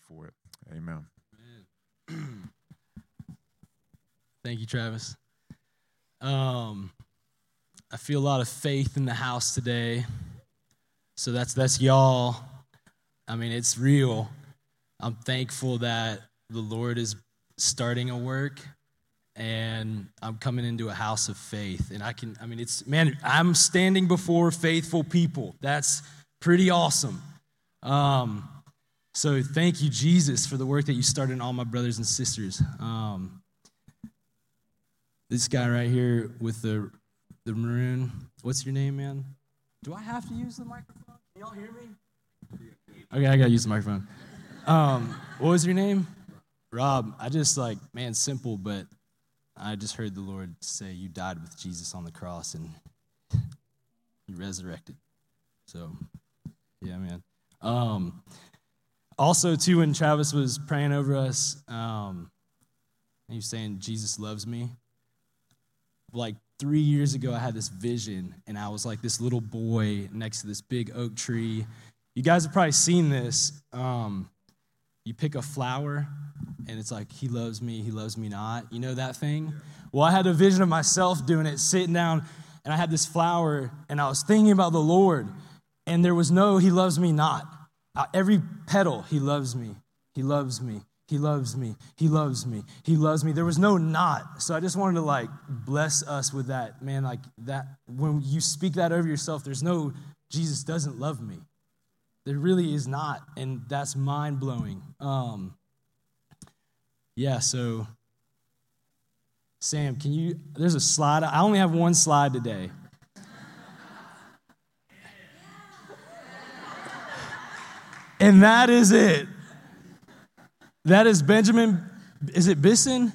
for it. Amen. Thank you, Travis. I feel a lot of faith in the house today. So that's y'all. I mean, it's real. I'm thankful that the Lord is starting a work, and I'm coming into a house of faith. And I'm standing before faithful people. That's pretty awesome. So thank you, Jesus, for the work that you started in all my brothers and sisters. This guy right here with the maroon, what's your name, man? Do I have to use the microphone? Can y'all hear me? Okay, I got to use the microphone. What was your name? Rob. I just simple, but I just heard the Lord say you died with Jesus on the cross and you resurrected. So, yeah, man. Also, too, when Travis was praying over us, he was saying, Jesus loves me. Like 3 years ago, I had this vision, and I was like this little boy next to this big oak tree. You guys have probably seen this. You pick a flower, and it's like, he loves me not. You know that thing? Well, I had a vision of myself doing it, sitting down, and I had this flower, and I was thinking about the Lord, and there was no he loves me not. Every petal, he loves me, he loves me, he loves me, he loves me, he loves me. There was no not. So I just wanted to bless us with that, man, that when you speak that over yourself, there's no Jesus doesn't love me. There really is not, and that's mind-blowing. So Sam, there's a slide. I only have one slide today. And that is it. That is Benjamin, is it Bisson?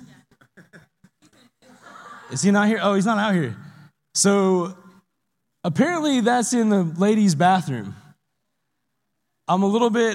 Is he not here? Oh, he's not out here. So apparently that's in the ladies' bathroom. I'm a little bit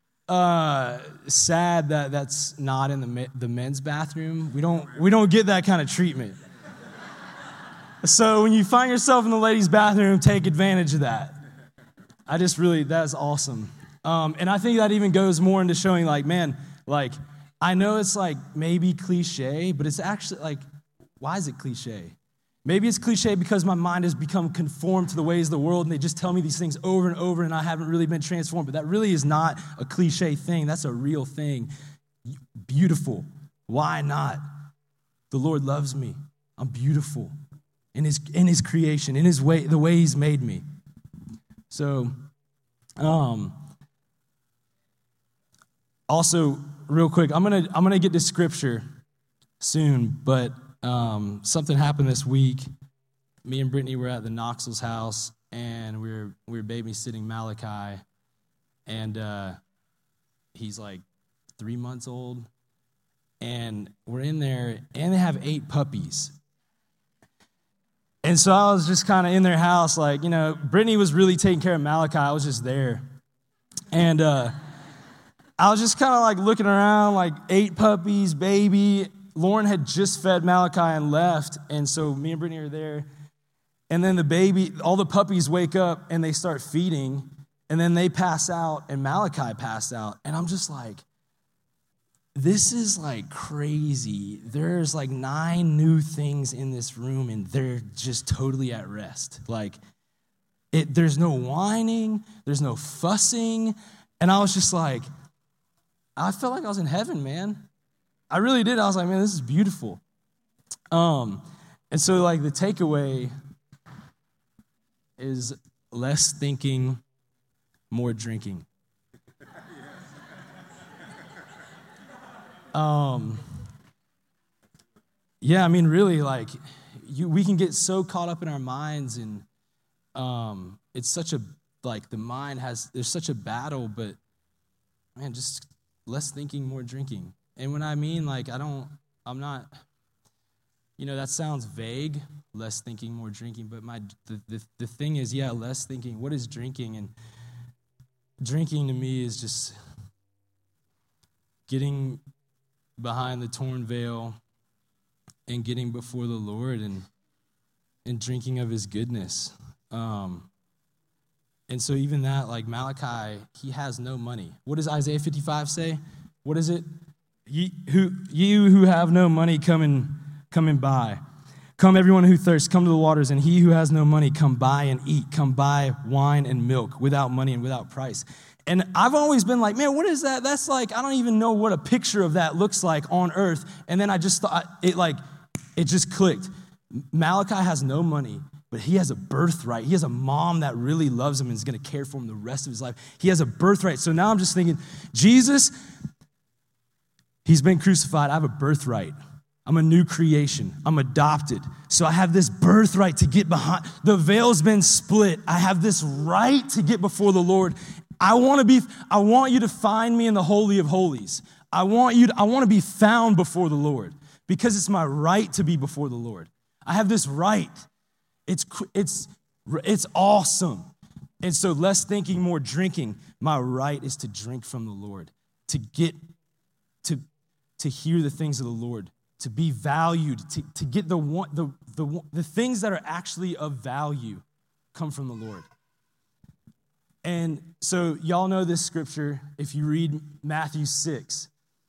sad that that's not in the men's bathroom. We don't get that kind of treatment. So when you find yourself in the ladies' bathroom, take advantage of that. That's awesome. And I think that even goes more into showing I know it's maybe cliche, but it's actually why is it cliche? Maybe it's cliche because my mind has become conformed to the ways of the world, and they just tell me these things over and over, and I haven't really been transformed. But that really is not a cliche thing. That's a real thing. Beautiful. Why not? The Lord loves me. I'm beautiful in His creation, in His way, the way He's made me. So, also, real quick, I'm gonna get to scripture soon, but something happened this week. Me and Brittany were at the Knoxville's house, and we were babysitting Malachi, and he's 3 months old, and we're in there, and they have 8 puppies. And so I was just kind of in their house, Brittany was really taking care of Malachi. I was just there, and I was just kind of looking around, 8 puppies, baby. Lauren had just fed Malachi and left, and so me and Brittany are there. And then all the puppies wake up and they start feeding, and then they pass out, and Malachi passed out. And I'm just this is crazy. There's 9 new things in this room, and they're just totally at rest. There's no whining, there's no fussing, and I was just I felt like I was in heaven, man. I really did. I was man, this is beautiful. And so the takeaway is less thinking, more drinking. Really, we can get so caught up in our minds, and it's such a the mind there's such a battle, but man, just less thinking, more drinking. And when I mean, I'm not, that sounds vague, less thinking, more drinking, but the thing is, less thinking. What is drinking? And drinking to me is just getting behind the torn veil and getting before the Lord and drinking of His goodness. And so even that, Malachi, he has no money. What does Isaiah 55 say? what is it? You who have no money, come and buy. Come, everyone who thirsts, come to the waters, and he who has no money, come buy and eat. Come buy wine and milk without money and without price. And I've always been like, man, what is that? That's like, I don't even know what a picture of that looks like on earth. And then I just thought, it just clicked. Malachi has no money, but he has a birthright. He has a mom that really loves him and is going to care for him the rest of his life. He has a birthright. So now I'm just thinking, Jesus, he's been crucified. I have a birthright. I'm a new creation. I'm adopted. So I have this birthright to get behind. The veil's been split. I have this right to get before the Lord. I want you to find me in the Holy of Holies. I want to be found before the Lord because it's my right to be before the Lord. I have this right. It's awesome. And so less thinking, more drinking. My right is to drink from the Lord, to hear the things of the Lord, to be valued, to get the things that are actually of value come from the Lord. And so y'all know this scripture. If you read Matthew 6,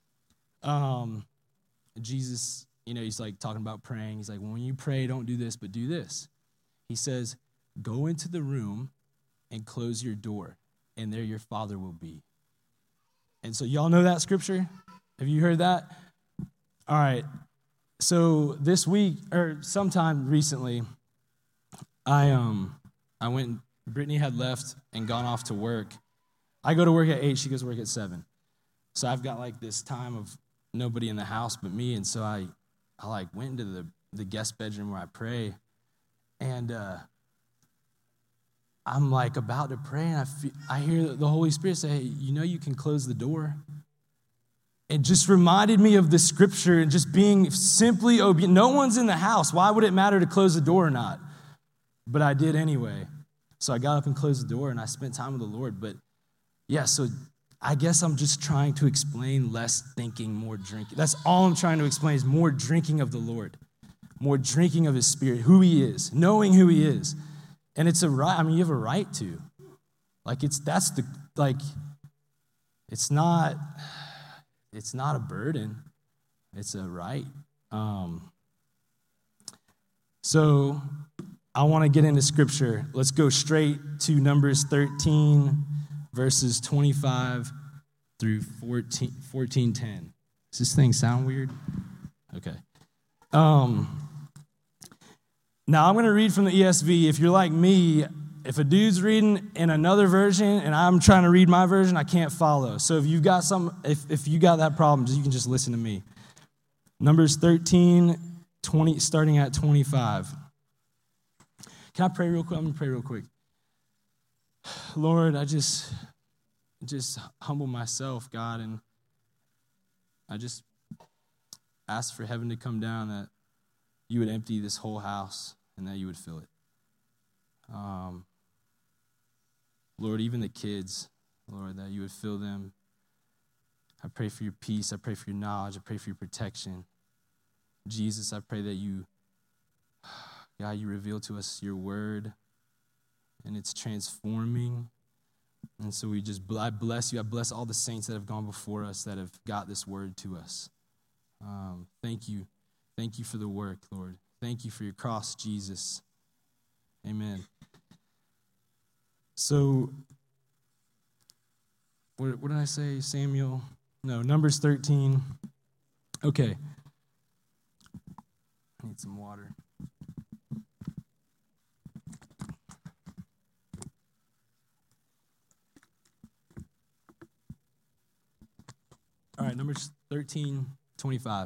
Jesus, he's like talking about praying. He's like, when you pray, don't do this, but do this. He says, go into the room and close your door, and there your Father will be. And so y'all know that scripture? Have you heard that? All right. So this week, or sometime recently, I went, Brittany had left and gone off to work. I go to work at 8, she goes to work at 7. So I've got like this time of nobody in the house but me, and so I like went into the guest bedroom where I pray, and I'm like about to pray, and I hear the Holy Spirit say, hey, you can close the door. It just reminded me of the scripture and just being simply obedient. No one's in the house. Why would it matter to close the door or not? But I did anyway. So I got up and closed the door, and I spent time with the Lord. But yeah, so I guess I'm just trying to explain less thinking, more drinking. That's all I'm trying to explain is more drinking of the Lord, more drinking of his Spirit, who he is, knowing who he is. And it's a right. I mean, you have a right to. It's not a burden. It's a right. So I want to get into scripture. Let's go straight to Numbers 13, verses 25 through 14:10. Does this thing sound weird? Okay. Now I'm going to read from the ESV. If you're like me, if a dude's reading in another version and I'm trying to read my version, I can't follow. So if you've got if you got that problem, you can just listen to me. Numbers 13, 20, starting at 25. Can I pray real quick? I'm going to pray real quick. Lord, I just humble myself, God, and I just ask for heaven to come down, that you would empty this whole house and that you would fill it. Lord, even the kids, Lord, that you would fill them. I pray for your peace. I pray for your knowledge. I pray for your protection. Jesus, I pray that you reveal to us your word, and it's transforming. And so I bless you. I bless all the saints that have gone before us that have got this word to us. Thank you. Thank you for the work, Lord. Thank you for your cross, Jesus. Amen. So, what did I say? Samuel? No, Numbers 13. Okay. I need some water. All right, Numbers 13, 25.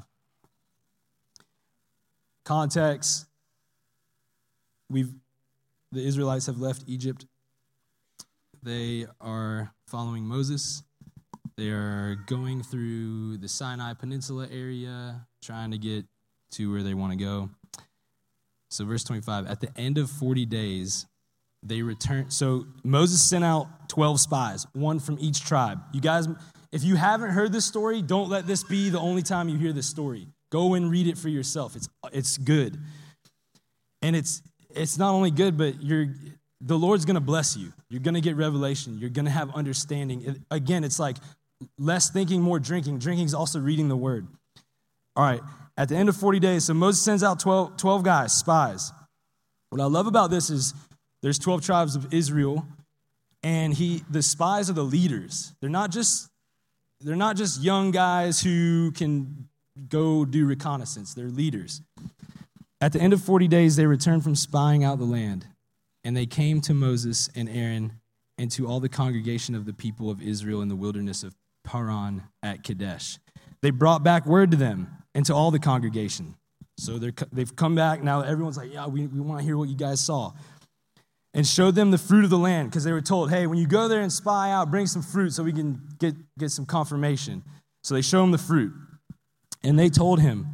Context. The Israelites have left Egypt. They are following Moses. They are going through the Sinai Peninsula area, trying to get to where they want to go. So verse 25, at the end of 40 days, they returned. So Moses sent out 12 spies, one from each tribe. You guys, if you haven't heard this story, don't let this be the only time you hear this story. Go and read it for yourself. It's good. And it's not only good, but the Lord's going to bless you. You're going to get revelation. You're going to have understanding. Again, it's like less thinking, more drinking. Drinking is also reading the word. All right, at the end of 40 days, so Moses sends out 12 guys, spies. What I love about this is there's 12 tribes of Israel, and the spies are the leaders. They're not just young guys who can go do reconnaissance. They're leaders. At the end of 40 days, they returned from spying out the land, and they came to Moses and Aaron and to all the congregation of the people of Israel in the wilderness of Paran at Kadesh. They brought back word to them and to all the congregation. So they've come back. Now everyone's like, yeah, we want to hear what you guys saw. And showed them the fruit of the land, because they were told, hey, when you go there and spy out, bring some fruit so we can get some confirmation. So they show him the fruit. And they told him,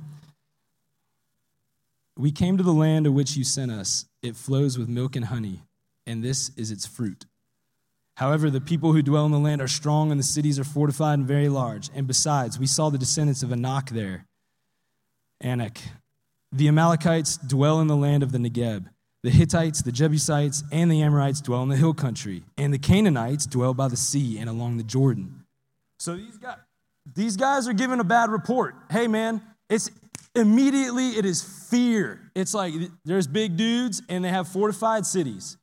we came to the land to which you sent us. It flows with milk and honey, and this is its fruit. However, the people who dwell in the land are strong, and the cities are fortified and very large. And besides, we saw the descendants of Anak there. Anak. The Amalekites dwell in the land of the Negeb. The Hittites, the Jebusites, and the Amorites dwell in the hill country. And the Canaanites dwell by the sea and along the Jordan. So these guys are giving a bad report. Hey, man, it is fear. It's like there's big dudes, and they have fortified cities.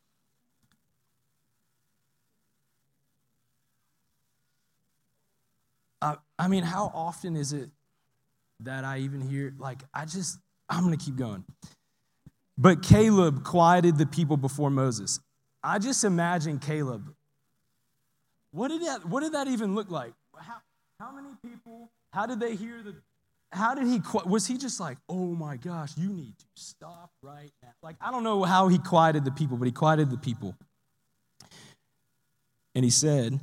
I mean, how often is it that I even hear, I'm going to keep going. But Caleb quieted the people before Moses. I just imagine Caleb. What did that even look like? How many people? How did they hear was he just like, oh my gosh, you need to stop right now? Like, I don't know how he quieted the people, but he quieted the people. And he said,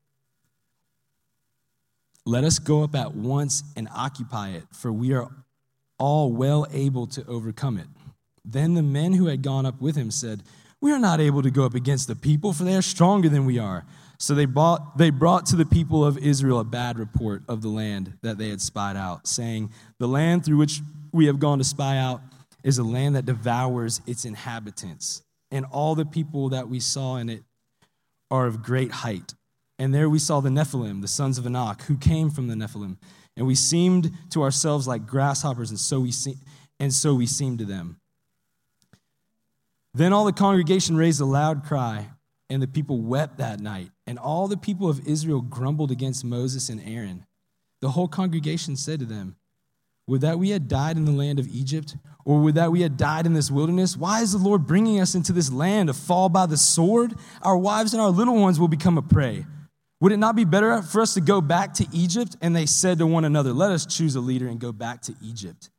let us go up at once and occupy it, for we are all well able to overcome it. Then the men who had gone up with him said, we are not able to go up against the people, for they are stronger than we are. So they brought to the people of Israel a bad report of the land that they had spied out, saying, the land through which we have gone to spy out is a land that devours its inhabitants, and all the people that we saw in it are of great height. And there we saw the Nephilim, the sons of Anak, who came from the Nephilim, and we seemed to ourselves like grasshoppers, and so we seemed to them. Then all the congregation raised a loud cry, and the people wept that night. And all the people of Israel grumbled against Moses and Aaron. The whole congregation said to them, would that we had died in the land of Egypt, or would that we had died in this wilderness? Why is the Lord bringing us into this land to fall by the sword? Our wives and our little ones will become a prey. Would it not be better for us to go back to Egypt? And they said to one another, let us choose a leader and go back to Egypt.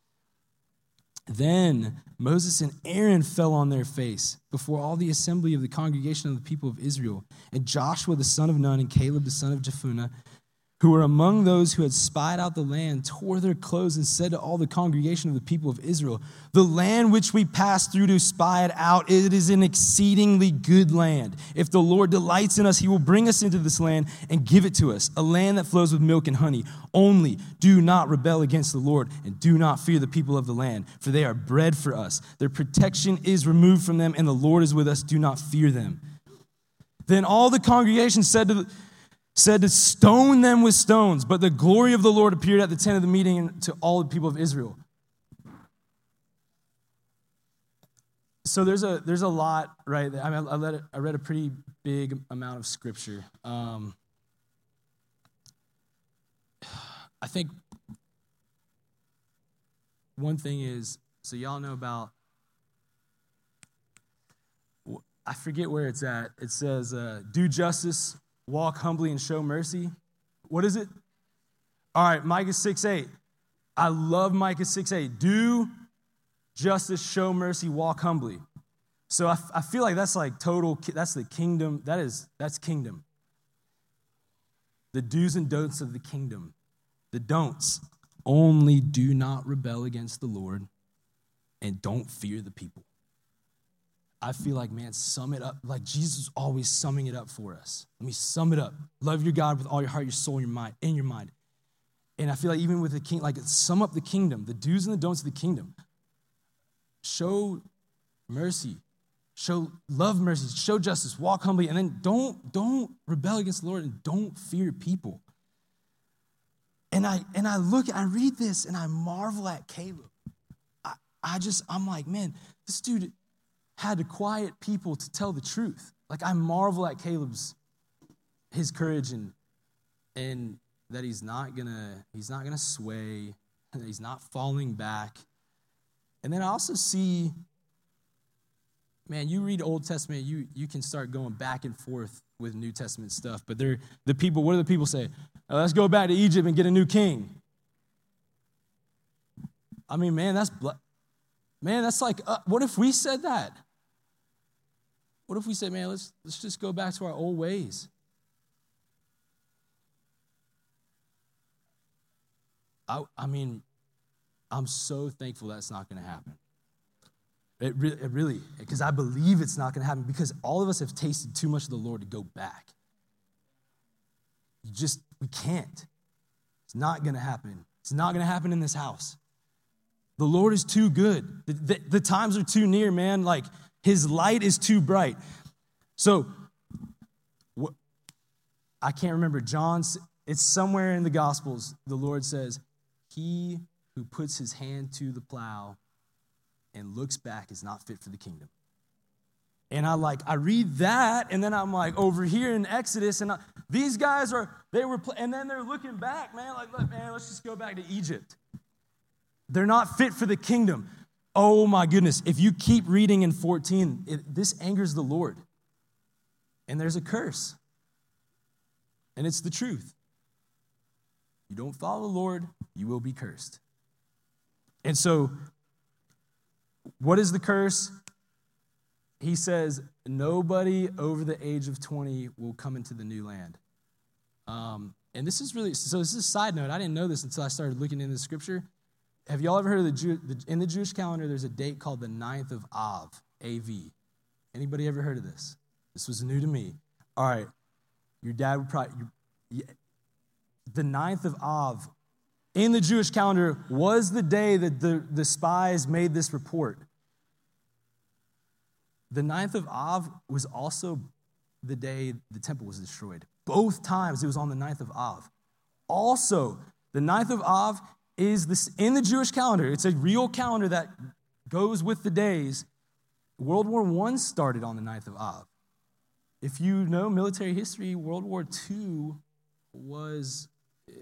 Then Moses and Aaron fell on their face before all the assembly of the congregation of the people of Israel. And Joshua the son of Nun and Caleb the son of Jephunneh, who were among those who had spied out the land, tore their clothes and said to all the congregation of the people of Israel, the land which we passed through to spy it out, it is an exceedingly good land. If the Lord delights in us, he will bring us into this land and give it to us, a land that flows with milk and honey. Only do not rebel against the Lord, and do not fear the people of the land, for they are bread for us. Their protection is removed from them, and the Lord is with us. Do not fear them. Then all the congregation said to stone them with stones, but the glory of the Lord appeared at the tent of the meeting to all the people of Israel. So there's a lot, right? I mean, I read a pretty big amount of scripture. I think one thing is, so y'all know about, I forget where it's at. It says, do justice, walk humbly, and show mercy. What is it? All right, Micah 6:8. I love Micah 6:8. Do justice, show mercy, walk humbly. So I feel like that's like that's the kingdom. That's kingdom. The do's and don'ts of the kingdom. The don'ts. Only do not rebel against the Lord, and don't fear the people. I feel like, man, sum it up. Like Jesus is always summing it up for us. Let me sum it up. Love your God with all your heart, your soul, your mind, and your mind. And I feel like even with the king, like sum up the kingdom, the do's and the don'ts of the kingdom. Show mercy. Love mercy. Show justice. Walk humbly. And then don't rebel against the Lord, and don't fear people. And I read this and I marvel at Caleb. I'm like, man, this dude had to quiet people to tell the truth. Like, I marvel at his courage and that he's not gonna sway, that he's not falling back. And then I also see, man, you read Old Testament, you can start going back and forth with New Testament stuff. But what do the people say? Oh, let's go back to Egypt and get a new king. I mean, man, that's like, what if we said that? What if we said, man, let's just go back to our old ways? I mean, I'm so thankful that's not going to happen. It really, because I believe it's not going to happen, because all of us have tasted too much of the Lord to go back. We can't. It's not going to happen. It's not going to happen in this house. The Lord is too good. The times are too near, man. Like, his light is too bright. So, I can't remember. It's somewhere in the Gospels, the Lord says, he who puts his hand to the plow and looks back is not fit for the kingdom. And I read that, and then I'm like, over here in Exodus, and these guys and then they're looking back, man, like, look, man, let's just go back to Egypt. They're not fit for the kingdom. Oh my goodness, if you keep reading in 14, this angers the Lord. And there's a curse. And it's the truth. You don't follow the Lord, you will be cursed. And so, what is the curse? He says, nobody over the age of 20 will come into the new land. And this is a side note. I didn't know this until I started looking into the scripture. Have y'all ever heard of in the Jewish calendar, there's a date called the 9th of Av, A-V. Anybody ever heard of this? This was new to me. All right, your dad would probably, the 9th of Av in the Jewish calendar was the day that the spies made this report. The 9th of Av was also the day the temple was destroyed. Both times it was on the 9th of Av. Also, the 9th of Av is this in the Jewish calendar. It's a real calendar that goes with the days. World War I started on the 9th of Av. If you know military history, World War II was,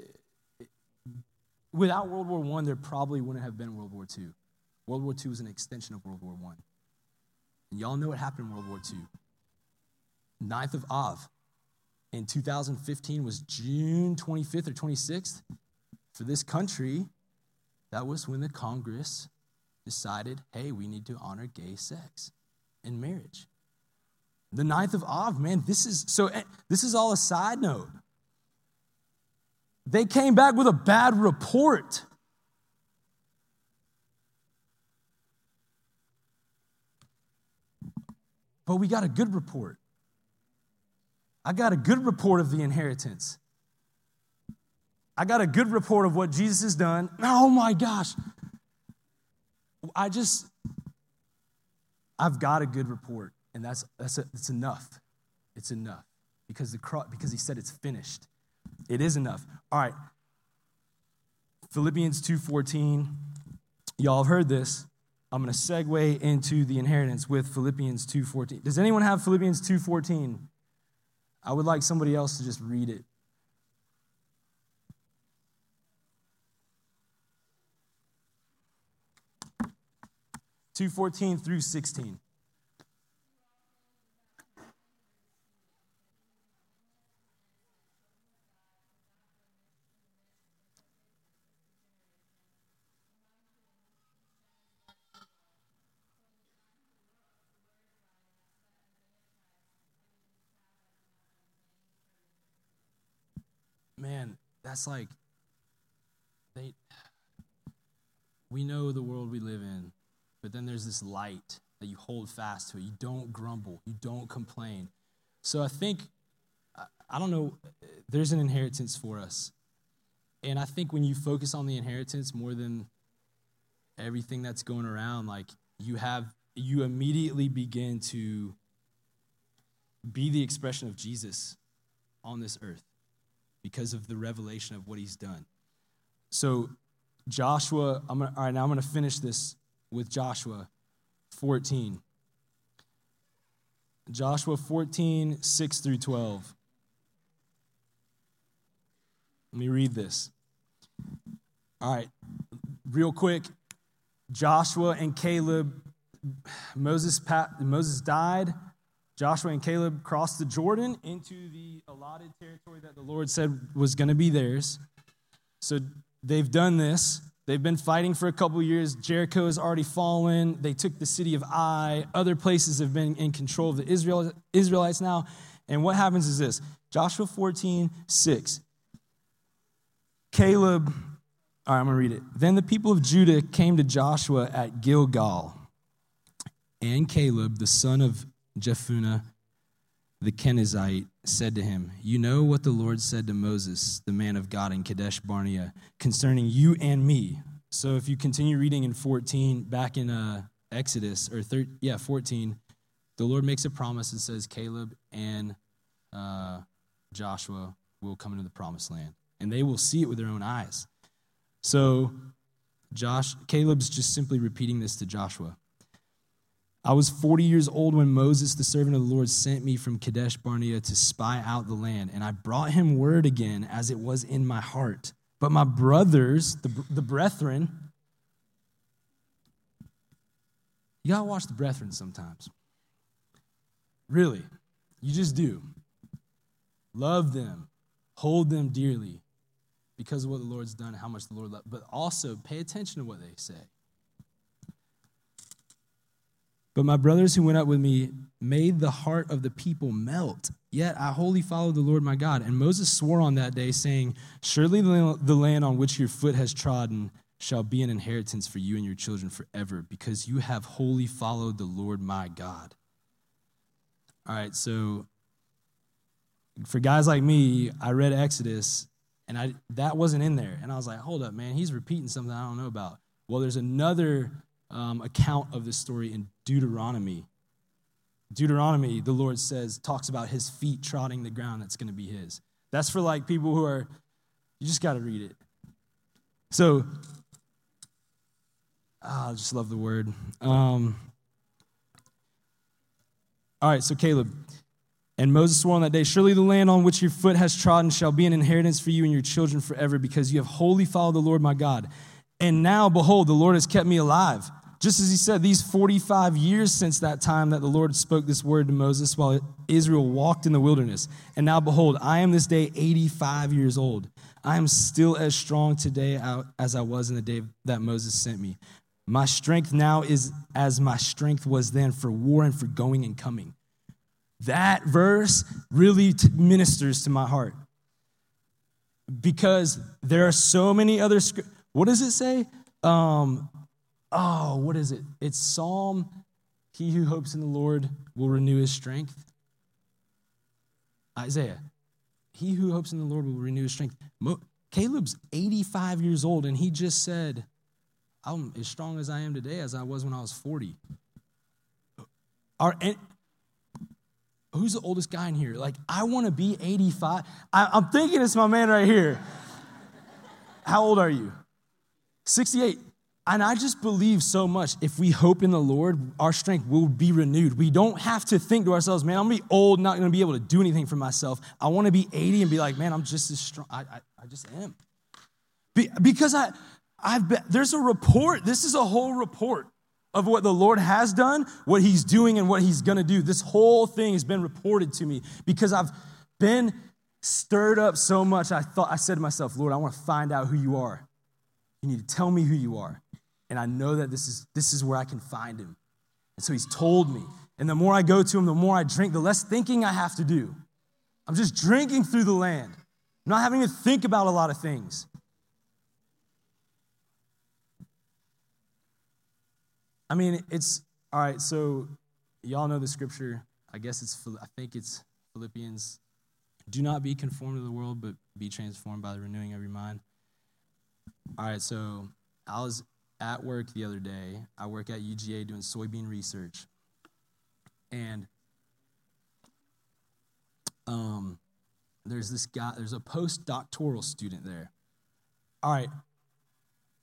without World War I, there probably wouldn't have been World War II. World War II was an extension of World War I. And y'all know what happened in World War II. 9th of Av in 2015 was June 25th or 26th. For this country, that was when the Congress decided, hey, we need to honor gay sex in marriage. The 9th of Av, man, this is all a side note. They came back with a bad report. But we got a good report. I got a good report of the inheritance. I got a good report of what Jesus has done. Oh my gosh. I've got a good report, and it's enough. It's enough because he said it's finished. It is enough. All right. Philippians 2:14. Y'all have heard this. I'm going to segue into the inheritance with Philippians 2:14. Does anyone have Philippians 2:14? I would like somebody else to just read it. 2:14 through 16. Man, that's like, we know the world we live in, but then there's this light that you hold fast to. You don't grumble. You don't complain. So I think, I don't know, there's an inheritance for us. And I think when you focus on the inheritance more than everything that's going around, like you immediately begin to be the expression of Jesus on this earth because of the revelation of what he's done. So Joshua, all right, now I'm going to finish this with Joshua 14. Joshua 14, 6 through 12. Let me read this. All right, real quick. Joshua and Caleb, Moses died. Joshua and Caleb crossed the Jordan into the allotted territory that the Lord said was going to be theirs. So they've done this. They've been fighting for a couple years. Jericho has already fallen. They took the city of Ai. Other places have been in control of the Israelites now. And what happens is this. Joshua 14, 6. Caleb, all right, I'm going to read it. Then the people of Judah came to Joshua at Gilgal. And Caleb, the son of Jephunneh, the Kenizzite, said to him, "You know what the Lord said to Moses, the man of God in Kadesh Barnea, concerning you and me." So if you continue reading in 14, back in Exodus, 14, the Lord makes a promise and says Caleb and Joshua will come into the promised land, and they will see it with their own eyes. So Caleb's just simply repeating this to Joshua. "I was 40 years old when Moses, the servant of the Lord, sent me from Kadesh Barnea to spy out the land, and I brought him word again as it was in my heart. But my brothers, the brethren," you got to watch the brethren sometimes. Really, you just do. Love them, hold them dearly because of what the Lord's done and how much the Lord loves, but also pay attention to what they say. "But my brothers who went up with me made the heart of the people melt. Yet I wholly followed the Lord my God. And Moses swore on that day, saying, 'Surely the land on which your foot has trodden shall be an inheritance for you and your children forever, because you have wholly followed the Lord my God.'" All right, so for guys like me, I read Exodus, and that wasn't in there. And I was like, hold up, man, he's repeating something I don't know about. Well, there's another account of this story in Deuteronomy. Deuteronomy, the Lord talks about his feet trotting the ground that's going to be his. That's for like people who are, you just got to read it. So, I just love the word. All right, so Caleb. "And Moses swore on that day, 'Surely the land on which your foot has trodden shall be an inheritance for you and your children forever, because you have wholly followed the Lord my God. And now, behold, the Lord has kept me alive, just as he said, these 45 years since that time that the Lord spoke this word to Moses while Israel walked in the wilderness. And now, behold, I am this day 85 years old. I am still as strong today as I was in the day that Moses sent me. My strength now is as my strength was then for war and for going and coming." That verse really ministers to my heart, because there are so many other scriptures. What does it say? What is it? It's Psalm, "He who hopes in the Lord will renew his strength." Isaiah, "He who hopes in the Lord will renew his strength." Caleb's 85 years old, and he just said, "I'm as strong as I am today as I was when I was 40. Who's the oldest guy in here? Like, I want to be 85. I'm thinking it's my man right here. How old are you? 68. And I just believe so much, if we hope in the Lord, our strength will be renewed. We don't have to think to ourselves, man, I'm going to be old, not going to be able to do anything for myself. I want to be 80 and be like, man, I'm just as strong. I just am. Because there's a report. This is a whole report of what the Lord has done, what he's doing, and what he's going to do. This whole thing has been reported to me because I've been stirred up so much. I said to myself, Lord, I want to find out who you are. You need to tell me who you are. And I know that this is where I can find him. And so he's told me. And the more I go to him, the more I drink, the less thinking I have to do. I'm just drinking through the land. I'm not having to think about a lot of things. I mean, it's, all right, so y'all know the scripture. I think it's Philippians. "Do not be conformed to the world, but be transformed by the renewing of your mind." All right, so I was at work the other day. I work at UGA doing soybean research. And there's this guy, there's a postdoctoral student there. All right,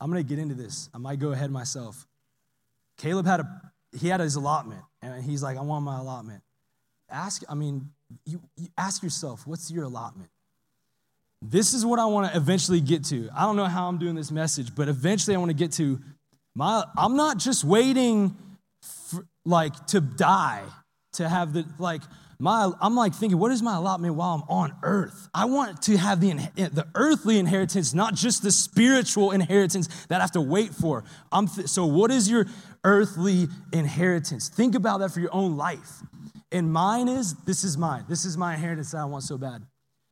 I'm going to get into this. I might go ahead myself. Caleb had his allotment, and he's like, I want my allotment. You ask yourself, what's your allotment? This is what I want to eventually get to. I don't know how I'm doing this message, but eventually I want to get to I'm not just waiting to die to have I'm like thinking, what is my allotment while I'm on earth? I want to have the earthly inheritance, not just the spiritual inheritance that I have to wait for. So what is your earthly inheritance? Think about that for your own life. And this is mine. This is my inheritance that I want so bad.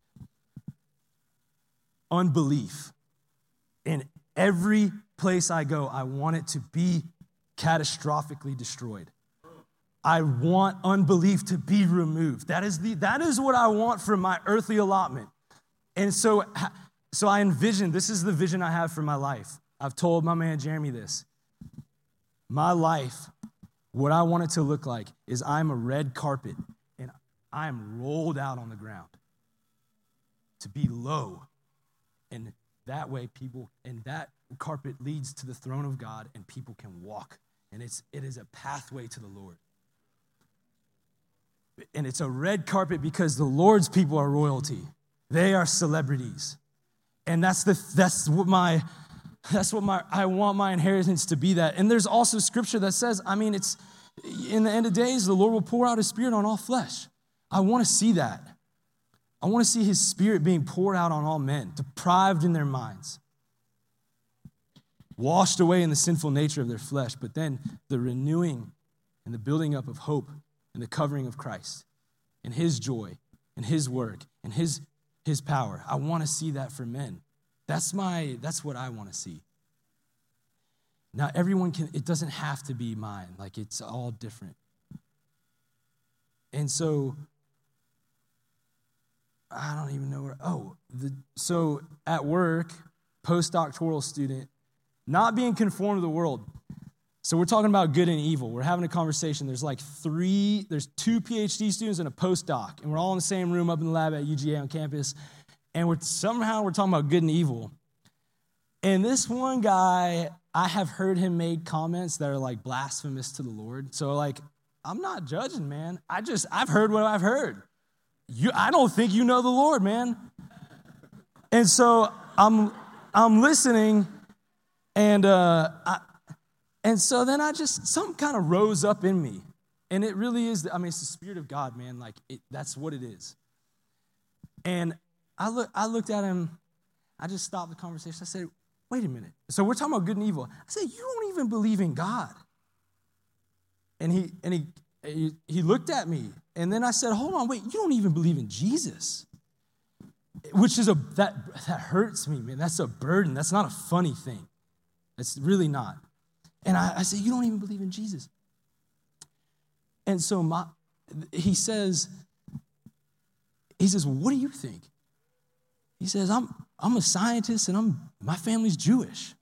Unbelief. In every place I go, I want it to be catastrophically destroyed. I want unbelief to be removed. That is what I want from my earthly allotment. And so I envision, this is the vision I have for my life. I've told my man Jeremy this. My life, what I want it to look like is I'm a red carpet and I am rolled out on the ground to be low. And that way that carpet leads to the throne of God and people can walk. And it is a pathway to the Lord. And it's a red carpet because the Lord's people are royalty. They are celebrities. And that's what I want my inheritance to be that. And there's also scripture that says, it's in the end of days, the Lord will pour out his spirit on all flesh. I want to see that. I want to see his spirit being poured out on all men, deprived in their minds, washed away in the sinful nature of their flesh, but then the renewing and the building up of hope and the covering of Christ and his joy and his work and his power. I want to see that for men. That's what I want to see. Now, it doesn't have to be mine. It's all different. And so, I don't even know so at work, postdoctoral student, not being conformed to the world. So we're talking about good and evil. We're having a conversation. There's there's 2 PhD students and a postdoc, and we're all in the same room up in the lab at UGA on campus, and we're talking about good and evil. And this one guy, I have heard him make comments that are blasphemous to the Lord. So I'm not judging, man. I've heard what I've heard. I don't think you know the Lord, man. And so I'm listening, and so then something kind of rose up in me. And it really is, it's the Spirit of God, man. That's what it is. And I looked at him. I just stopped the conversation. I said, wait a minute. So we're talking about good and evil. I said, you don't even believe in God. And he looked at me. And then I said, hold on, wait, you don't even believe in Jesus. Which is that hurts me, man. That's a burden. That's not a funny thing. It's really not. And I said, you don't even believe in Jesus. And so he says, well, what do you think? He says, I'm a scientist and my family's Jewish.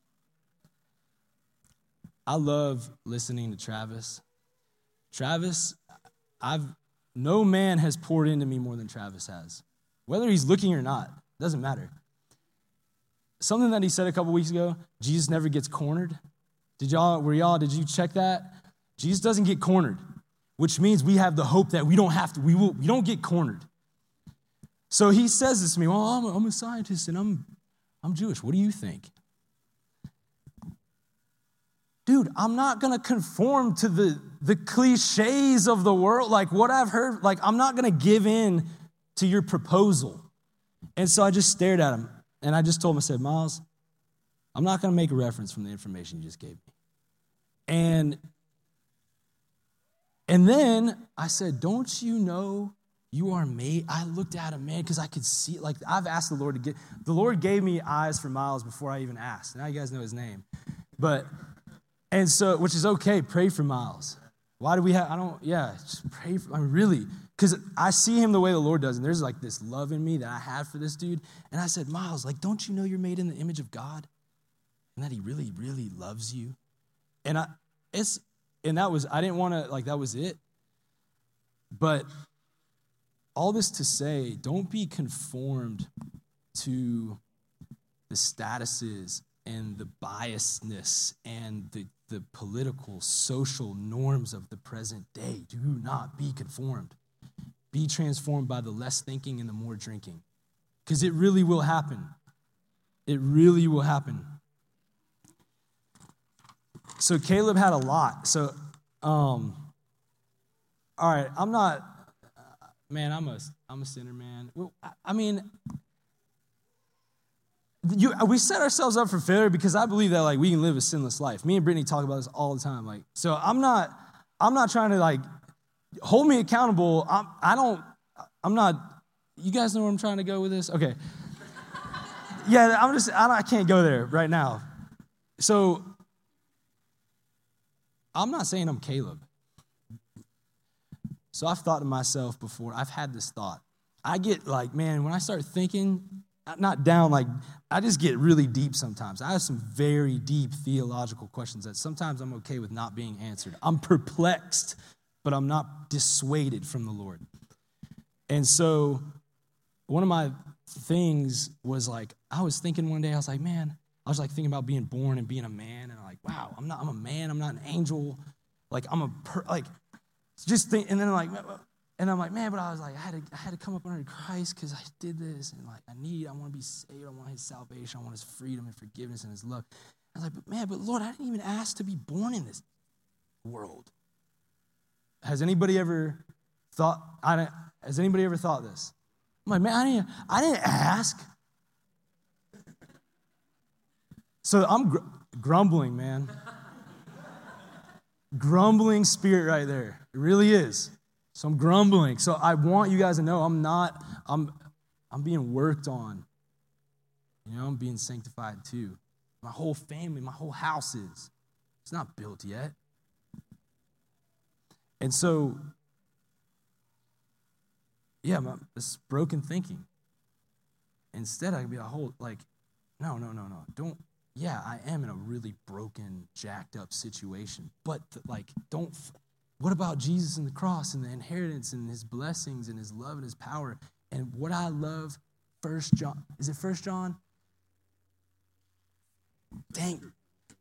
I love listening to Travis. Travis, no man has poured into me more than Travis has. Whether he's looking or not, doesn't matter. Something that he said a couple weeks ago, Jesus never gets cornered. Did you check that? Jesus doesn't get cornered, which means we have the hope that we don't get cornered. So he says this to me, well, I'm a scientist and I'm Jewish. What do you think? Dude, I'm not going to conform to the cliches of the world, what I've heard. I'm not going to give in to your proposal. And so I just stared at him, and I just told him, I said, Miles, I'm not going to make a reference from the information you just gave me. And then I said, don't you know you are made? I looked at him, man, because I could see, I've asked the Lord gave me eyes for Miles before I even asked. Now you guys know his name. And so, which is okay, pray for Miles. Why do we have, just pray for, really, because I see him the way the Lord does, and there's this love in me that I have for this dude. And I said, Miles, don't you know you're made in the image of God? And that he really, really loves you? And I didn't want to, that was it. But all this to say, don't be conformed to the statuses and the biasness and the political, social norms of the present day. Do not be conformed. Be transformed by the less thinking and the more drinking. Because it really will happen. It really will happen. So Caleb had a lot. So, all right, I'm not, man, I'm a sinner, man. Well, I mean, we set ourselves up for failure because I believe that, like, we can live a sinless life. Me and Brittany talk about this all the time. Like, so I'm not trying to, like, hold me accountable. I'm not, you guys know where I'm trying to go with this? Okay. Yeah, I can't go there right now. So I'm not saying I'm Caleb. So I've thought to myself before, I've had this thought. I get like, man, when I start thinking, not down, like, I just get really deep sometimes. I have some very deep theological questions that sometimes I'm okay with not being answered. I'm perplexed, but I'm not dissuaded from the Lord. And so one of my things was like, I was thinking one day, I was like, man, I was like thinking about being born and being a man, and I'm like, wow, I'm a man, I'm not an angel, like just think, and then like, and I'm like, man, but I was like, I had to come up under Christ because I did this, and like, I want to be saved, I want his salvation, I want his freedom and forgiveness and his love. I was like, but Lord, I didn't even ask to be born in this world. Has anybody ever thought this? I'm like, man, I didn't ask. So I'm grumbling, man. Grumbling spirit right there. It really is. So I'm grumbling. So I want you guys to know I'm being worked on. You know, I'm being sanctified too. My whole family, my whole house is. It's not built yet. And so, yeah, this broken thinking. Instead, I could be no. Don't. Yeah, I am in a really broken, jacked up situation. But what about Jesus and the cross and the inheritance and his blessings and his love and his power? And what I love, 1 John, is it 1 John? Dang.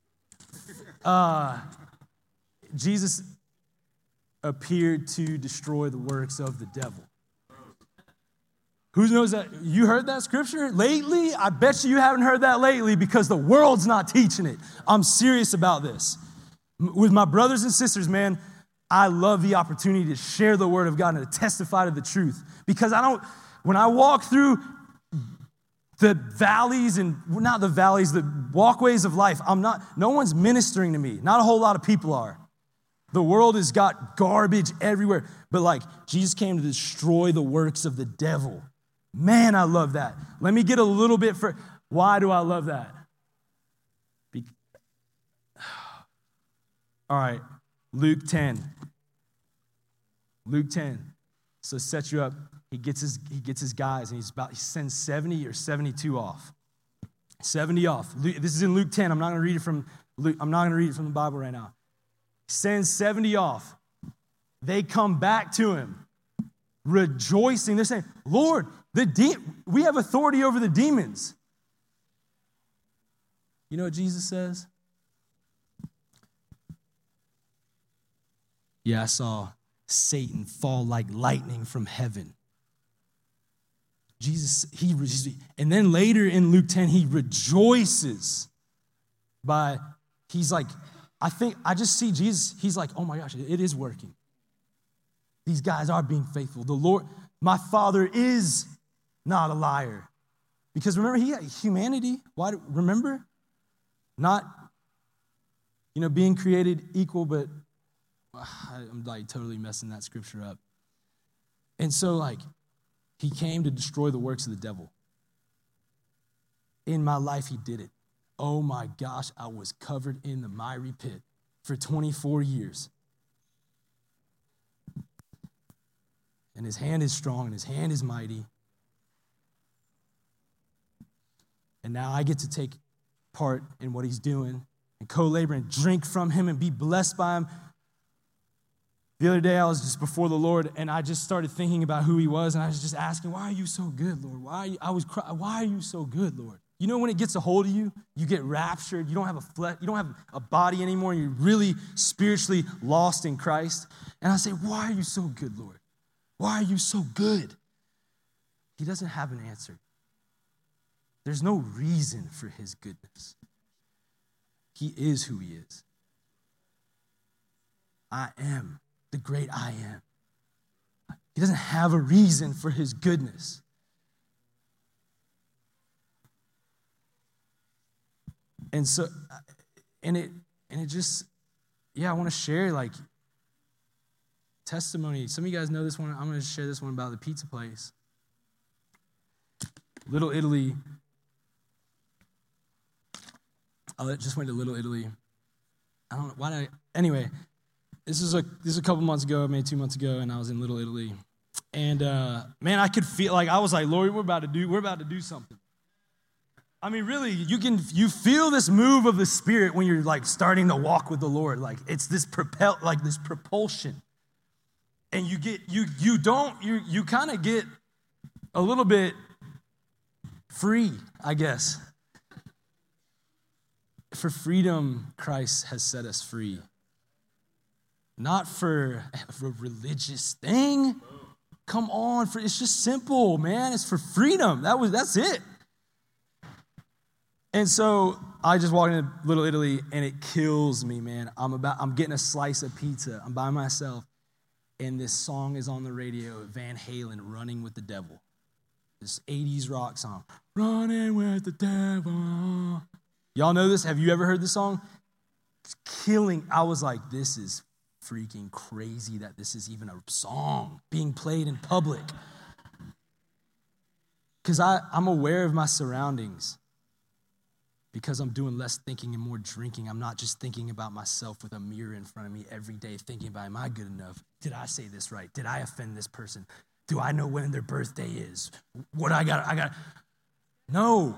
Jesus appeared to destroy the works of the devil. Who knows that? You heard that scripture lately? I bet you haven't heard that lately because the world's not teaching it. I'm serious about this. With my brothers and sisters, man, I love the opportunity to share the word of God and to testify to the truth. Because when I walk through the valleys and not the valleys, the walkways of life, no one's ministering to me. Not a whole lot of people are. The world has got garbage everywhere. But like, Jesus came to destroy the works of the devil. Man, I love that. Let me get a little bit why do I love that? All right, Luke 10. Luke 10. So set you up. He gets his guys, and he sends 70 or 72 off. 70 off. This is in Luke 10. I'm not going to read it from the Bible right now. He sends 70 off. They come back to him, rejoicing. They're saying, Lord, we have authority over the demons. You know what Jesus says? Yeah, I saw Satan fall like lightning from heaven. Jesus, and then later in Luke 10, he rejoices he's like, I just see Jesus, he's like, oh my gosh, it is working. These guys are being faithful. The Lord, my Father is not a liar. Because remember, he had humanity. Why? Remember? Not, being created equal, but I'm like totally messing that scripture up. And so he came to destroy the works of the devil. In my life, he did it. Oh my gosh, I was covered in the miry pit for 24 years. And his hand is strong, and his hand is mighty. And now I get to take part in what he's doing and co-labor and drink from him and be blessed by him. The other day, I was just before the Lord, and I just started thinking about who he was, and I was just asking, why are you so good, Lord? Why are you so good, Lord? You know when it gets a hold of you, you get raptured, you don't have a body anymore, and you're really spiritually lost in Christ. And I say, why are you so good, Lord? Why are you so good? He doesn't have an answer. There's no reason for his goodness. He is who he is. I am the great I am. He doesn't have a reason for his goodness. And so, and it just, I want to share like testimony. Some of you guys know this one. I'm going to share this one about the pizza place. Little Italy. I just went to Little Italy. I don't know why. Anyway, this is a couple months ago, maybe 2 months ago, and I was in Little Italy. And man, I could feel like I was like, Lord, we're about to do something. I mean, really, you feel this move of the Spirit when you're like starting to walk with the Lord. Like it's this propulsion. And you kind of get a little bit free, I guess. For freedom, Christ has set us free. Not for a religious thing. Come on, it's just simple, man. It's for freedom. That's it. And so I just walked into Little Italy, and it kills me, man. I'm getting a slice of pizza. I'm by myself, and this song is on the radio, Van Halen, "Running with the Devil." This 80s rock song, "Running with the Devil." Y'all know this? Have you ever heard this song? It's killing. I was like, this is freaking crazy that this is even a song being played in public. Because I'm aware of my surroundings. Because I'm doing less thinking and more drinking. I'm not just thinking about myself with a mirror in front of me every day, thinking about, am I good enough? Did I say this right? Did I offend this person? Do I know when their birthday is? What I got. No.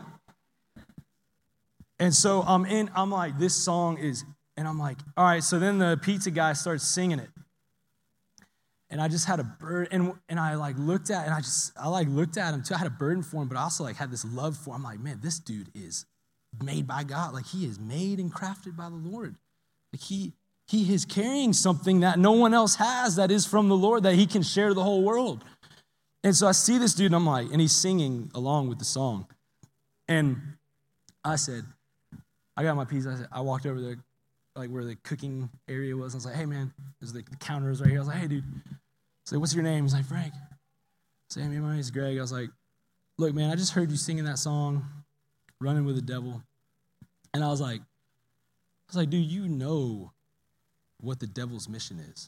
And so I'm like, this song is, and I'm like, all right, so then the pizza guy starts singing it. And I just had a burden, and I looked at him too. I had a burden for him, but I also had this love for him. I'm like, man, this dude is made by God. Like he is made and crafted by the Lord. Like he is carrying something that no one else has that is from the Lord that he can share to the whole world. And so I see this dude, and I'm like, and he's singing along with the song. And I said, I got my pizza. I walked over there, like where the cooking area was. I was like, hey man, there's the counter is right here. I was like, hey dude. I said, what's your name? He's like, Frank. I said, hey, my name's Greg. I was like, look man, I just heard you singing that song, "Running with the Devil." And I was like, dude, you know what the devil's mission is.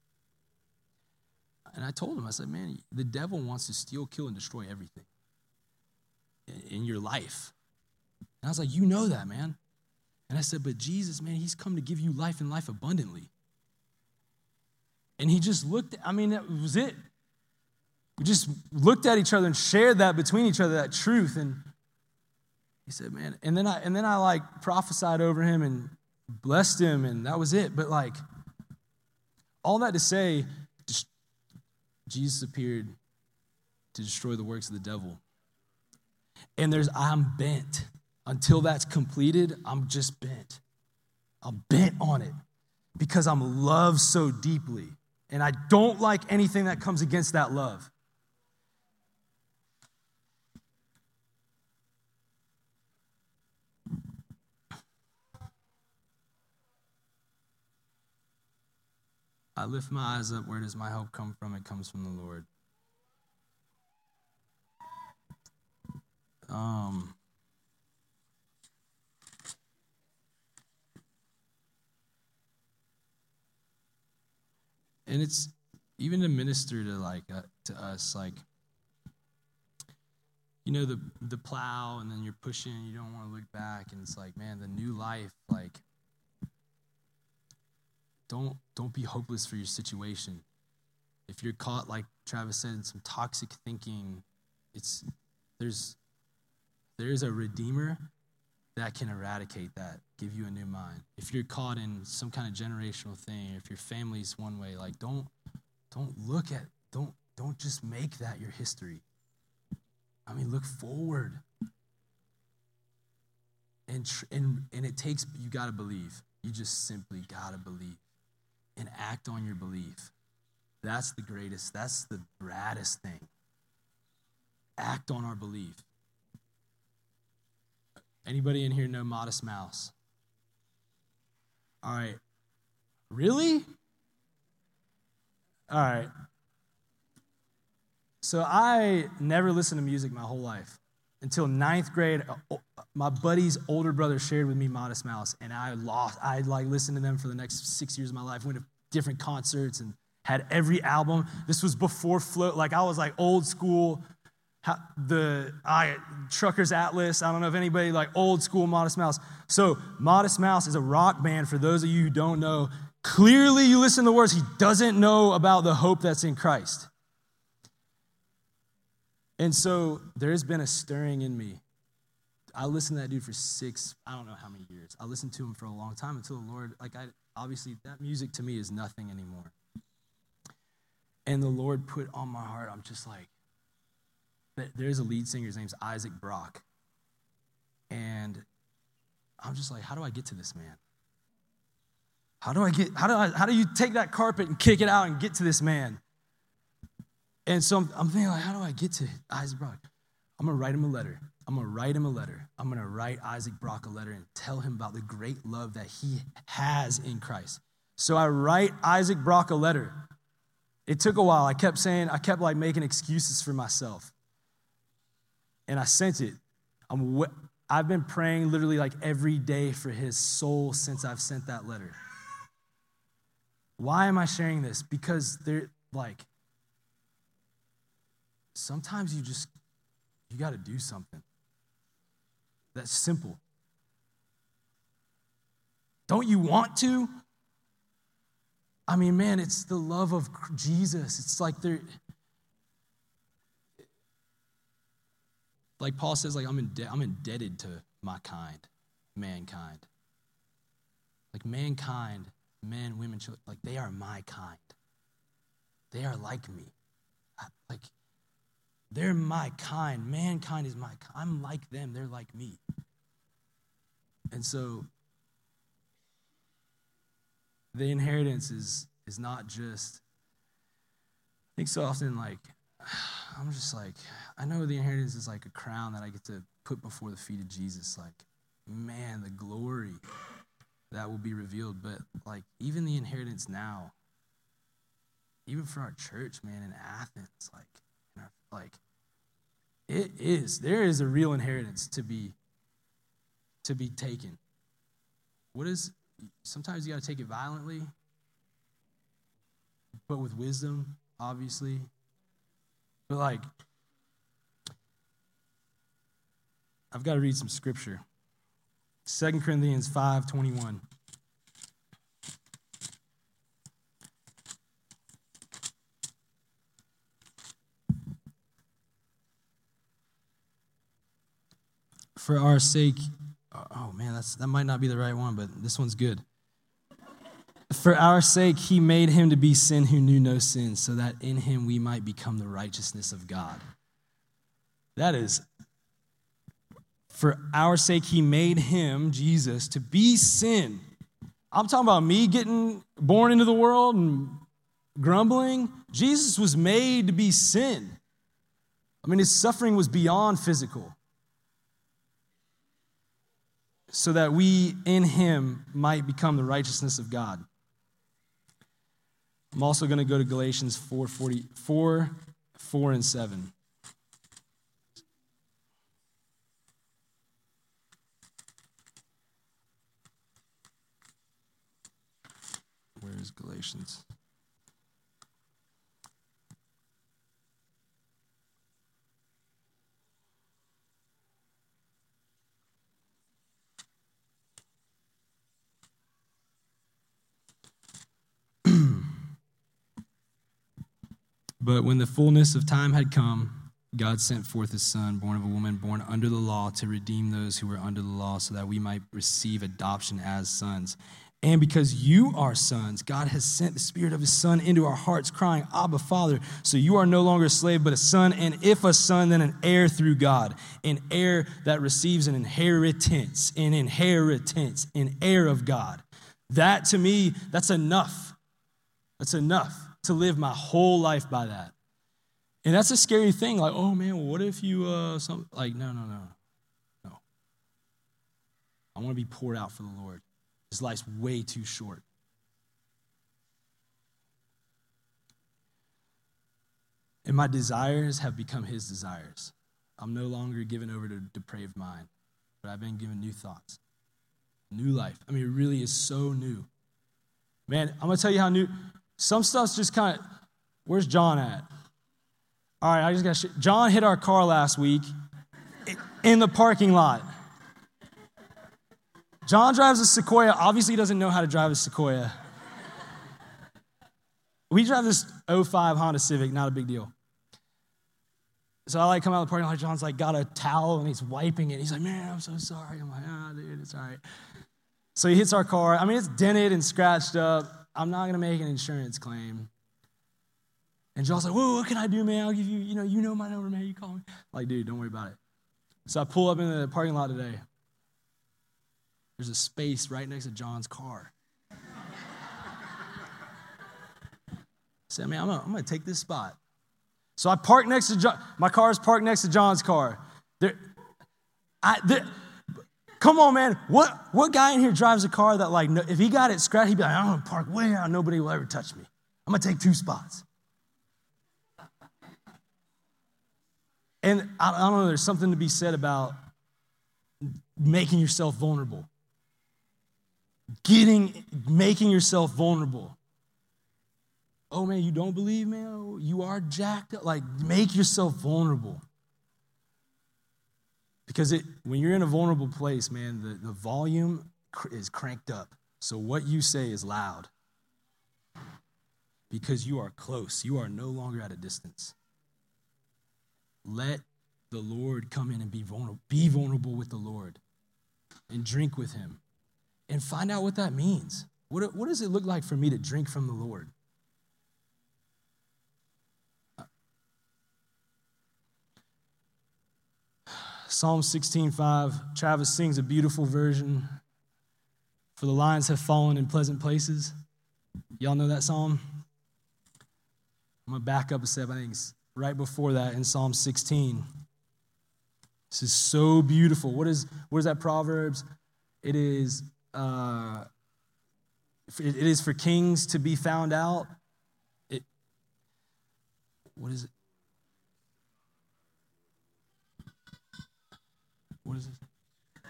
And I told him, I said, man, the devil wants to steal, kill, and destroy everything in your life. And I was like, you know that, man. And I said, but Jesus, man, he's come to give you life and life abundantly. And he just looked, that was it. We just looked at each other and shared that between each other, that truth. And he said, man, and then I prophesied over him and blessed him, and that was it. But all that to say, Jesus appeared to destroy the works of the devil. And I'm bent. Until that's completed, I'm just bent. I'm bent on it because I'm loved so deeply. And I don't like anything that comes against that love. I lift my eyes up. Where does my help come from? It comes from the Lord. And it's even to minister to us, the plow, and then you're pushing, you don't want to look back, and it's like, man, the new life, don't be hopeless for your situation. If you're caught, like Travis said, in some toxic thinking, there is a Redeemer that can eradicate that, give you a new mind. If you're caught in some kind of generational thing, if your family's one way, don't just make that your history. Look forward. And it takes, you got to believe. You just simply got to believe and act on your belief. That's the greatest, that's the raddest thing. Act on our belief. Anybody in here know Modest Mouse? All right. Really? All right. So I never listened to music my whole life. Until ninth grade, my buddy's older brother shared with me Modest Mouse, and I listened to them for the next 6 years of my life, went to different concerts and had every album. This was before Float. Like, I was like old school, Trucker's Atlas. I don't know if anybody, like old school Modest Mouse. So Modest Mouse is a rock band, for those of you who don't know. Clearly, you listen to the words, he doesn't know about the hope that's in Christ. And so there's been a stirring in me. I listened to that dude for I don't know how many years. I listened to him for a long time until the Lord, obviously that music to me is nothing anymore. And the Lord put on my heart, I'm just like, there's a lead singer, his name's Isaac Brock. And I'm just like, how do I get to this man? How do you take that carpet and kick it out and get to this man? And so I'm thinking, like, how do I get to Isaac Brock? I'm going to write him a letter. I'm going to write Isaac Brock a letter and tell him about the great love that he has in Christ. So I write Isaac Brock a letter. It took a while. I kept making excuses for myself. And I sent it. I've been praying literally like every day for his soul since I've sent that letter. Why am I sharing this? Because sometimes you got to do something. That's simple. Don't you want to? I mean, man, it's the love of Jesus. It's like like Paul says, like I'm indebted to my kind, mankind. Like mankind, men, women, children, like they are my kind. They are like me. They're my kind. Mankind is my kind. I'm like them. They're like me. And so the inheritance is not just, I think so often, like, I'm just like, I know the inheritance is like a crown that I get to put before the feet of Jesus. Like, man, the glory that will be revealed. But like, even the inheritance now, even for our church, man, in Athens, there is a real inheritance to be taken. Sometimes you got to take it violently, but with wisdom, obviously. But like, I've got to read some scripture. 2 Corinthians 5:21. For our sake, oh man, that might not be the right one, but this one's good. For our sake, he made him to be sin who knew no sin, so that in him we might become the righteousness of God. That is, for our sake, he made him, Jesus, to be sin. I'm talking about me getting born into the world and grumbling. Jesus was made to be sin. I mean, his suffering was beyond physical, so that we in him might become the righteousness of God. I'm also going to go to Galatians 4 and 7. Where is Galatians? But when the fullness of time had come, God sent forth his son, born of a woman, born under the law, to redeem those who were under the law, so that we might receive adoption as sons. And because you are sons, God has sent the Spirit of his Son into our hearts, crying, Abba, Father. So you are no longer a slave, but a son. And if a son, then an heir through God. An heir that receives an inheritance, an heir of God. That, to me, that's enough. That's enough to live my whole life by that. And that's a scary thing. Like, oh, man, well, what if you, no. I want to be poured out for the Lord. His life's way too short. And my desires have become his desires. I'm no longer given over to a depraved mind, but I've been given new thoughts, new life. I mean, it really is so new. Man, I'm going to tell you how new. Some stuff's just kind of, where's John at? All right, I just got John hit our car last week in the parking lot. John drives a Sequoia. Obviously, he doesn't know how to drive a Sequoia. We drive this 05 Honda Civic, not a big deal. So I come out of the parking lot. John's got a towel and he's wiping it. He's like, man, I'm so sorry. I'm like, dude, it's all right. So he hits our car. I mean, it's dented and scratched up. I'm not going to make an insurance claim. And John's like, whoa, what can I do, man? I'll give you, you know my number, man. You call me. Like, dude, don't worry about it. So I pull up into the parking lot today. There's a space right next to John's car. I said, man, I'm going to take this spot. So I park next to John. My car is parked next to John's car. Come on, man. What guy in here drives a car that, if he got it scratched, he'd be like, I'm going to park way out. Nobody will ever touch me. I'm going to take 2 spots. And I don't know, there's something to be said about making yourself vulnerable. Making yourself vulnerable. Oh, man, you don't believe, man? You are jacked up. Make yourself vulnerable. Because when you're in a vulnerable place, man, the volume is cranked up. So what you say is loud. Because you are close. You are no longer at a distance. Let the Lord come in and be vulnerable. Be vulnerable with the Lord. And drink with him. And find out what that means. What does it look like for me to drink from the Lord? Psalm 16:5, Travis sings a beautiful version. For the lions have fallen in pleasant places. Y'all know that psalm? I'm going to back up a step. I think it's right before that in Psalm 16. This is so beautiful. What is that Proverbs? It is for kings to be found out. What is it? What is it?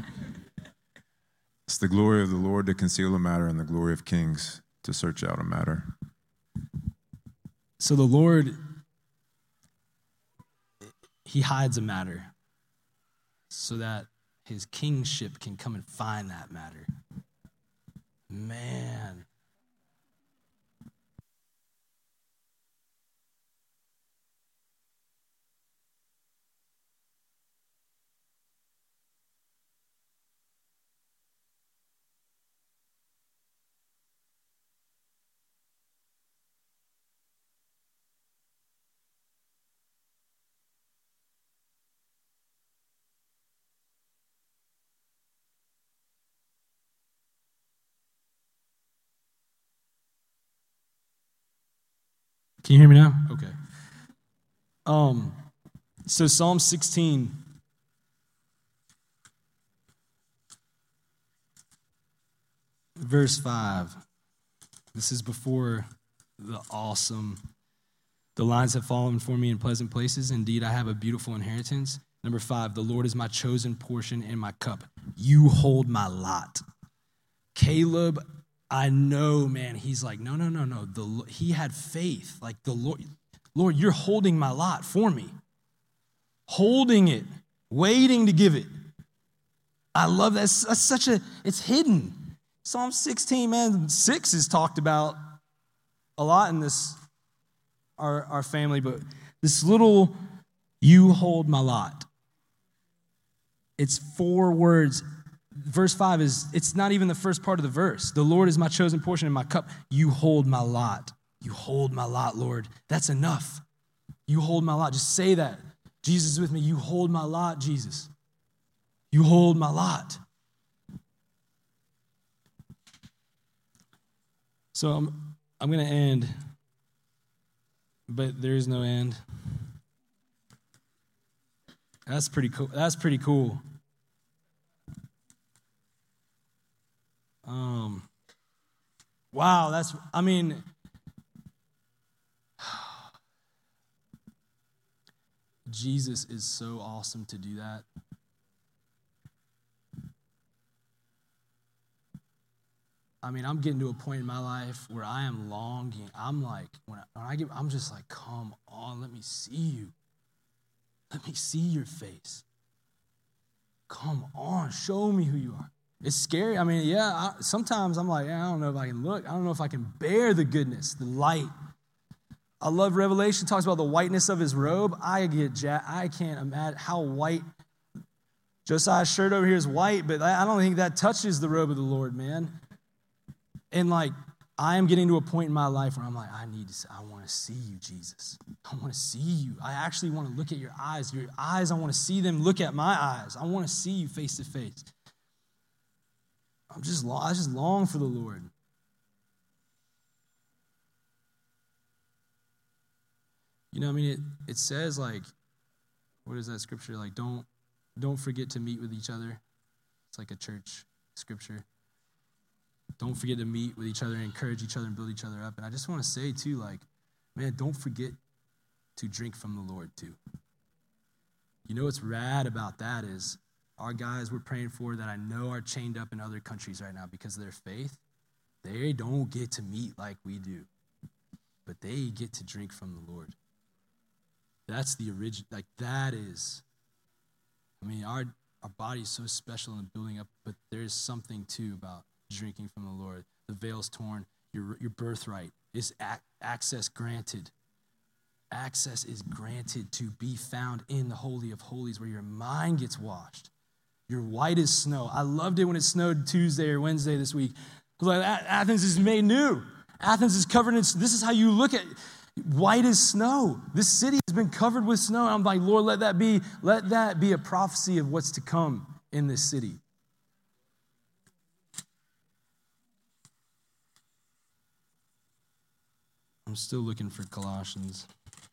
It's the glory of the Lord to conceal a matter and the glory of kings to search out a matter. So the Lord, he hides a matter so that his kingship can come and find that matter. Man. Can you hear me now? Okay. So Psalm 16. Verse 5. This is before the lines have fallen for me in pleasant places. Indeed, I have a beautiful inheritance. Number 5, the Lord is my chosen portion and my cup. You hold my lot. Caleb, I know, man, he's like, no. He had faith. Like the Lord, you're holding my lot for me. Holding it, waiting to give it. I love that. That's it's hidden. Psalm 16, man, 6 is talked about a lot in this, our family, but this little, you hold my lot. It's 4 words verse 5 it's not even the first part of the verse. The Lord is my chosen portion and my cup. You hold my lot. You hold my lot, Lord. That's enough. You hold my lot. Just say that. Jesus is with me. You hold my lot, Jesus. You hold my lot. So I'm going to end, but there is no end. That's pretty cool. That's pretty cool. Wow, Jesus is so awesome to do that. I'm getting to a point in my life where I am longing. I'm like, I'm just like, come on, let me see you. Let me see your face. Come on, show me who you are. It's scary. Sometimes I'm like, I don't know if I can look. I don't know if I can bear the goodness, the light. I love Revelation. It talks about the whiteness of his robe. I can't imagine how white. Josiah's shirt over here is white, but I don't think that touches the robe of the Lord, man. And I am getting to a point in my life where I'm like, I want to see you, Jesus. I want to see you. I actually want to look at your eyes. Your eyes, I want to see them look at my eyes. I want to see you face to face. I just long for the Lord. It says what is that scripture? Don't forget to meet with each other. It's like a church scripture. Don't forget to meet with each other, encourage each other, and build each other up. And I just want to say, too, don't forget to drink from the Lord, too. You know what's rad about that is our guys we're praying for that I know are chained up in other countries right now because of their faith, they don't get to meet like we do, but they get to drink from the Lord. That's the original, that is, our body is so special in building up, but there's something, too, about drinking from the Lord. The veil's torn. Your birthright is access granted. Access is granted to be found in the Holy of Holies where your mind gets washed. You're white as snow. I loved it when it snowed Tuesday or Wednesday this week. I was like, Athens is made new. Athens is covered in, this is how you look at white as snow. This city has been covered with snow. And I'm like, Lord, let that be a prophecy of what's to come in this city. I'm still looking for Colossians.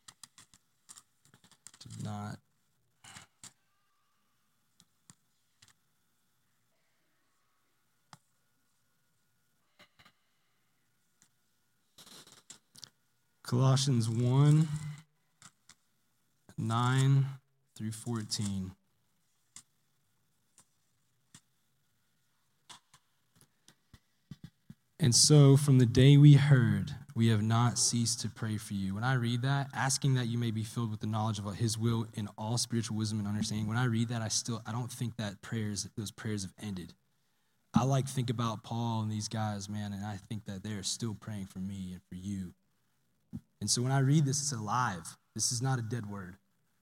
Did not. Colossians 1, 9 through 14. And so from the day we heard, we have not ceased to pray for you. When I read that, asking that you may be filled with the knowledge of his will in all spiritual wisdom and understanding, when I read that, I don't think that those prayers have ended. I think about Paul and these guys, man, and I think that they're still praying for me and for you. And so when I read this, it's alive. This is not a dead word.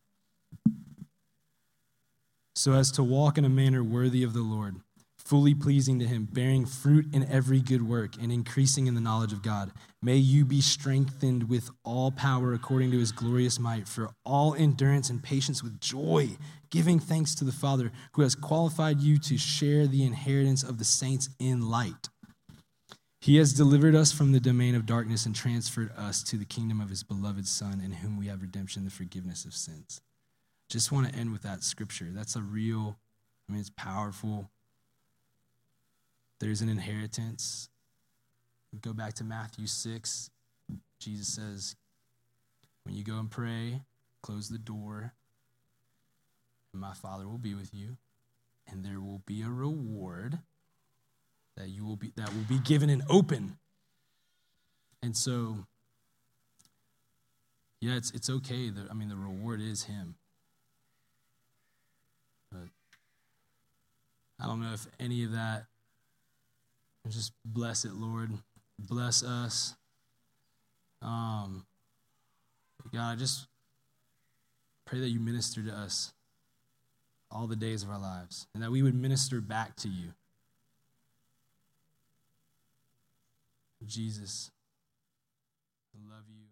So as to walk in a manner worthy of the Lord, fully pleasing to him, bearing fruit in every good work, and increasing in the knowledge of God. May you be strengthened with all power according to his glorious might, for all endurance and patience with joy, giving thanks to the Father who has qualified you to share the inheritance of the saints in light. He has delivered us from the domain of darkness and transferred us to the kingdom of his beloved Son, in whom we have redemption, the forgiveness of sins. Just want to end with that scripture. That's it's powerful. There's an inheritance. Go back to Matthew 6. Jesus says, when you go and pray, close the door, and my Father will be with you, and there will be a reward that will be given and open. And so, yeah, it's okay. The reward is him. But I don't know if any of that. Just bless it, Lord. Bless us. God, I just pray that you minister to us. all the days of our lives, and that we would minister back to you. Jesus, I love you.